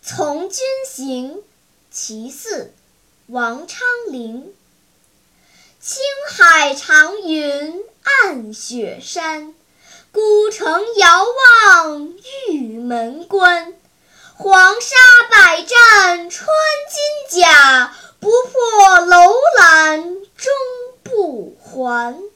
从军行·其四，王昌龄。青海长云暗雪山，孤城遥望玉门关。黄沙百战穿金甲，不破楼兰终不还。